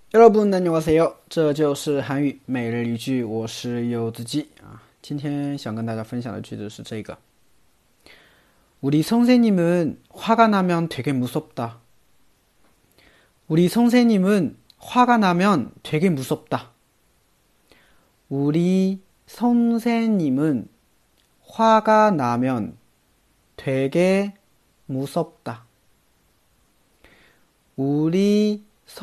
여러분 안녕하세요，这就是韩语每日一句，我是柚子鸡啊。今天想跟大家分享的句子是这个：우리 선생님은 화가 나면 되게 무섭다. 우리 선생님은 화가 나면 되게 무섭다. 우리 선생님은 화가 나면 되게 무섭다. 우리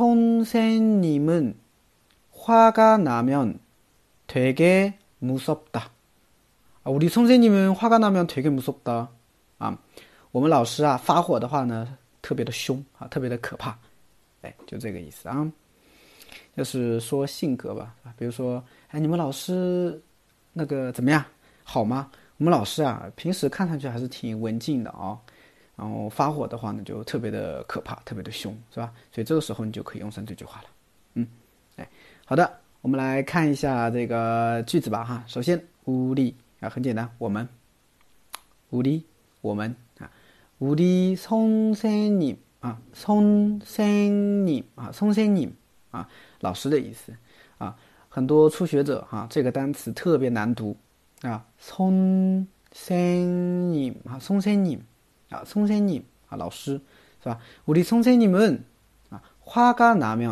선생님은 화가 나면 되게 무섭다. 우리 선생님은 화가 나면 되게 무섭다. 我们老师啊发火的话呢，特别的凶啊，特别的可怕。哎，就这个意思啊。就是说性格吧，比如说，哎，你们老师那个怎么样，好吗？我们老师啊，平时看上去还是挺文静的啊，然后发火的话呢，就特别的可怕，特别的凶，是吧？所以这个时候你就可以用上这句话了。哎，好的，我们来看一下这个句子吧哈。首先，우리啊，很简单，我们，우리我们啊，우리 선생님啊，선생님啊，선생님啊，老师的意思啊。很多初学者哈，这个单词特别难读啊，선생님啊，선생님啊，선생님啊，老师是吧？우리 선생님은啊，화가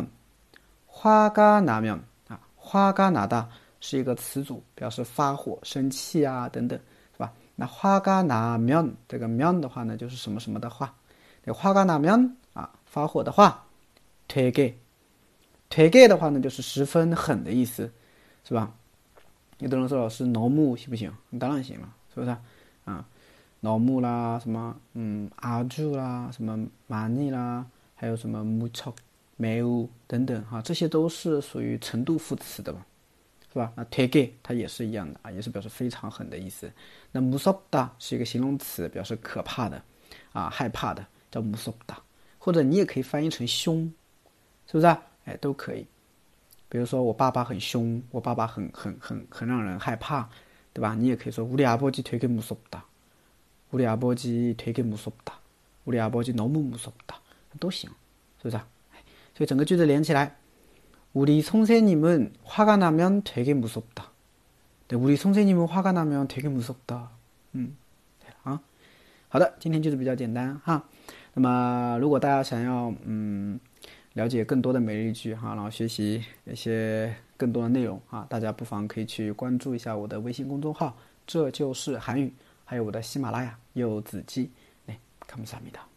나면，화가 나면啊，화가 나다是一个词组，表示发火、生气啊等等，是吧？那화가 나면这个면的话呢，就是什么什么的话。화가 나면啊，发火的话，되게的话呢，就是十分狠的意思，是吧？有的人说老师너무行不行？当然行了，是不是啊？너무啦，什么아주啦，什么많이啦，还有什么무척、매우等等哈，这些都是属于程度副词的嘛，是吧？那되게它也是一样的啊，也是表示非常狠的意思。那무섭다是一个形容词，表示可怕的啊，害怕的，叫무섭다。或者你也可以翻译成凶，是不是啊？哎，都可以。比如说我爸爸很凶，我爸爸很让人害怕，对吧？你也可以说우리 아버지 되게 무섭다，우리 아버지 되게 무섭다，우리 아버지 너무 무섭다，都行，是不是啊？所以整个句子连起来，우리 선생님은 화가 나면 되게 무섭다。对，우리 선생님은 화가 나면 되게 무섭다。对了啊。好的，今天句子比较简单哈。那么如果大家想要了解更多的每日一句哈，然后学习一些更多的内容啊，大家不妨可以去关注一下我的微信公众号，这就是韩语，还有我的喜马拉雅柚子鸡，감사합니다。